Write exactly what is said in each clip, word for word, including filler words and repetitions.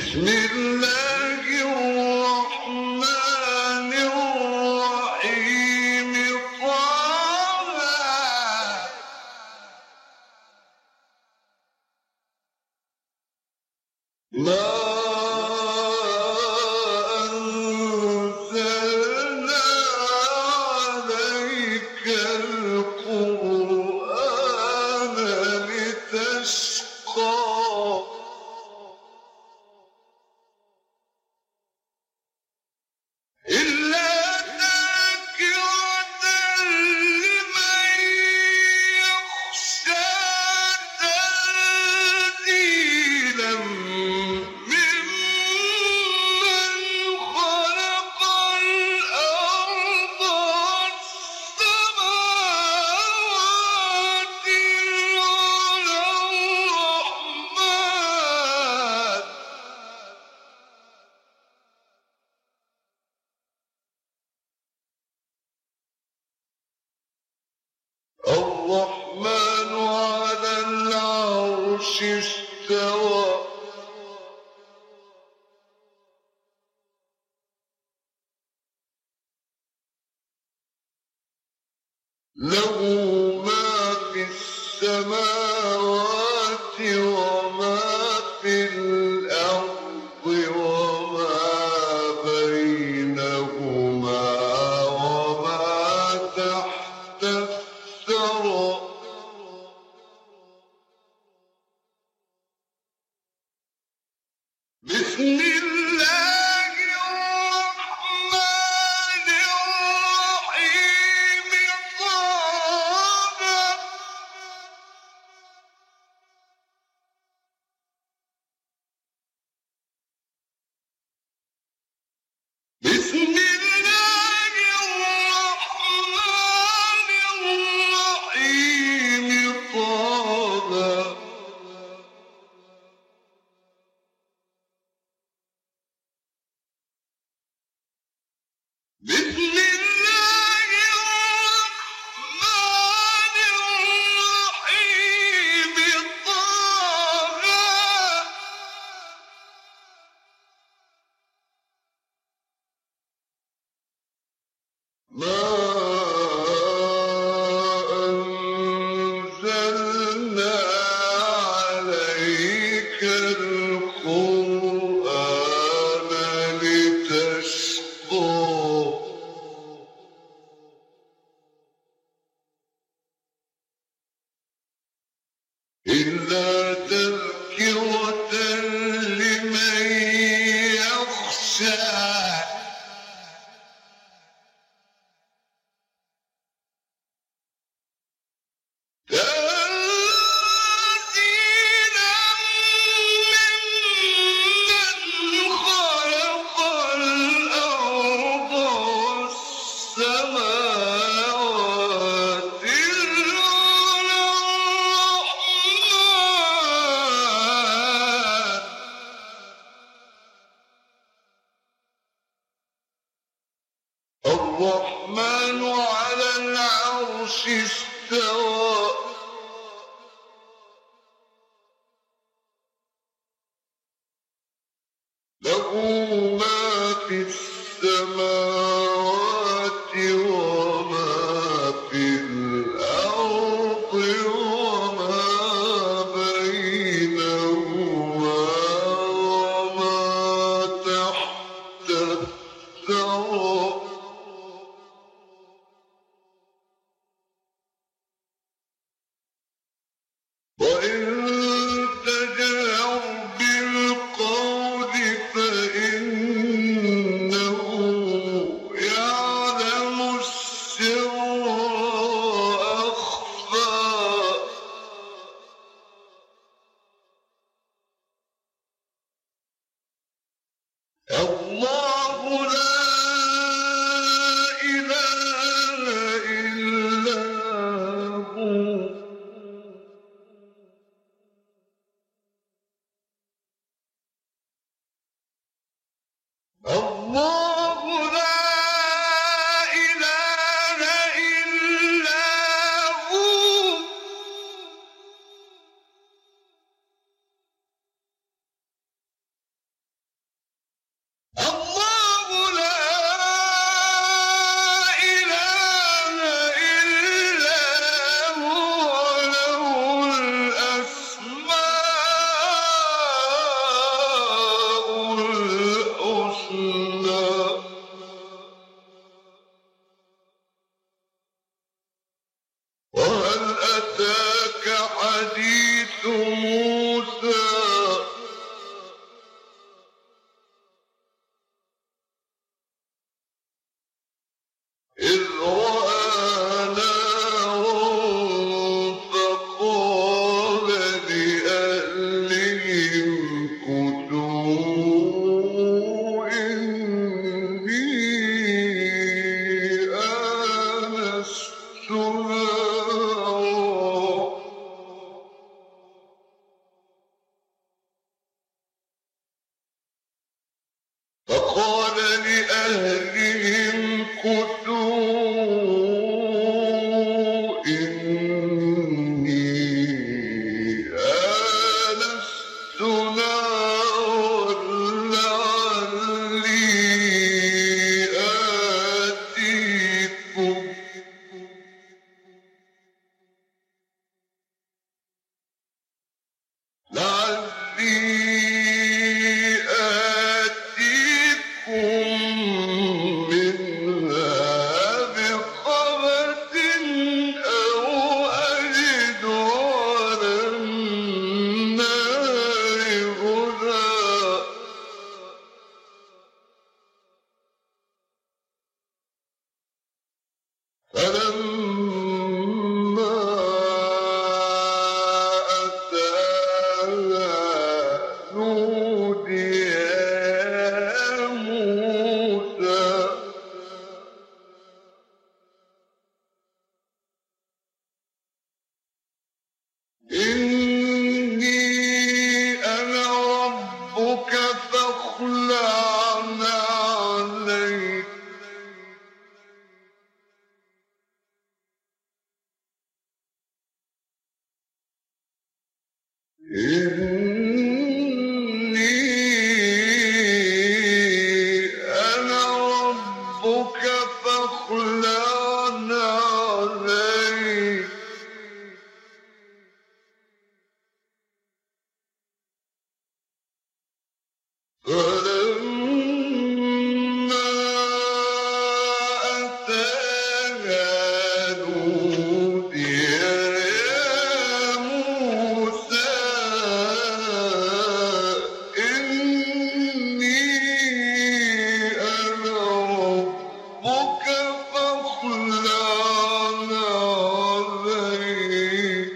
بسم الله الرحمن الرحيم طه ما أنزلنا عليك القرآن لتشقى إلا تذكرة لمن يخشى تنزيلا ممن خلق الأرض والسماوات العلى الرحمن الرحمن على العرش استوى له ما في السماوات وما في الأرض وما بينهما وما تحت الثرى بسم الله الرحمن الرحيم طه بسم الله الرحمن الرحيم طه بسم الله الرحمن الرحيم طه ما أنزلنا عليك القرآن لتشقى إلا تذكرة لمن يخشى تنزيلا ممن خلق الأرض والسماوات العلى الرحمن الرحمن على العرش استوى له ما في السماوات وما في الأرض وما بينهما وما تحت الثرى وإن تجهر بالقول فإنه يعلم السر وأخفى الله لا إله إلا هو الله لا إله إلا هو فقال لأهلهم كثوا إني آنست نارا لعلي آتيكم لعلي فلما أتاها نودي يا موسى إني أنا ربك فاخلع عليك إني أنا ربك فاخلع عليك فلما أتاها نودي يا موسى إني أنا ربك فاخلع عليك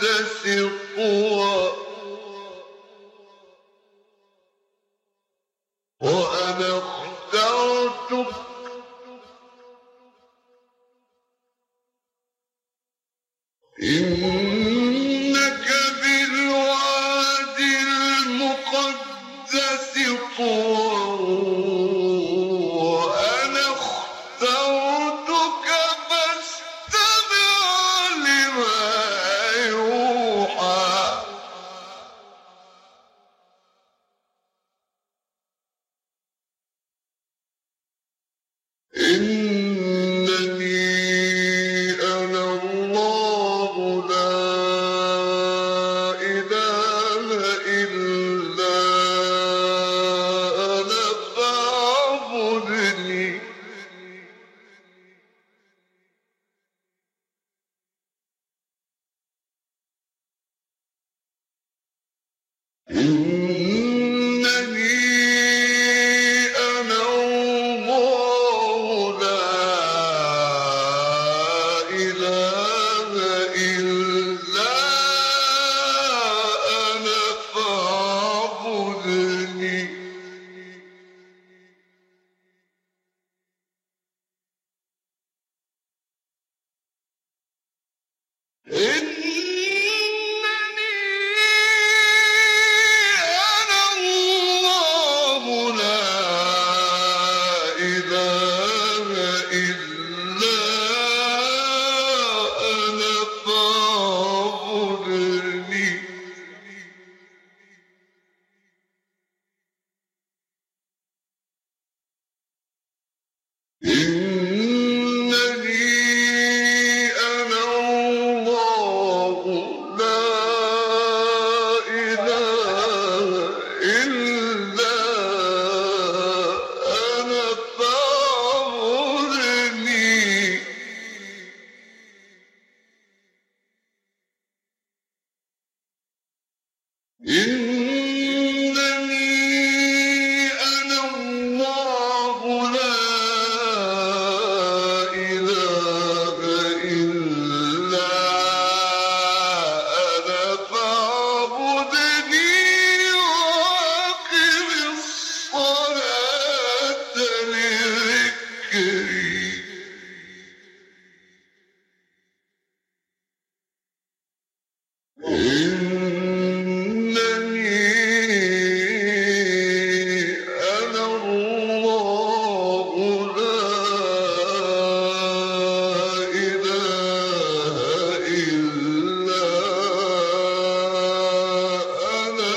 طوى وأنا اخترتك إنك بالواد المقدس طوى وأنا اخترتك فاستمع لما يوحى إنني أنا الله لا إله إلا أنا فاعبدني إنني أنا الله لا إله إلا أنا فاعبدني إنني أنا الله لا إله إلا أنا فاعبدني إنني أنا الله لا إله إلا أنا فاعبدني إنني أنا الله لا إله إلا أنا فاعبدني وأقم الصلاة لذكري إنني أنا الله لا إله إلا أنا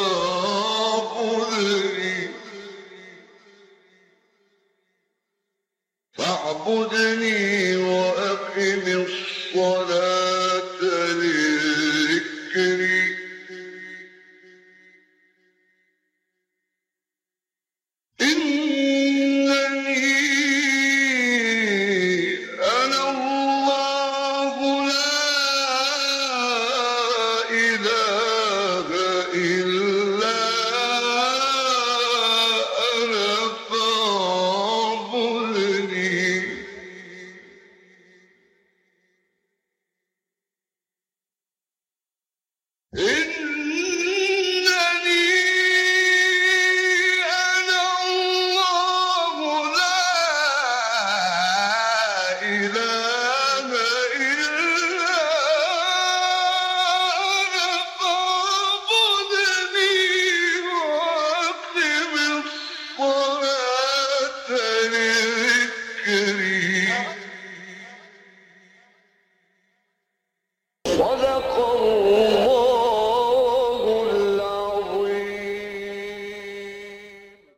فاعبدني فاعبدني وأقم الصلاة لذكري إنني أنا الله لا إله إلا أنا فاعبدني إنني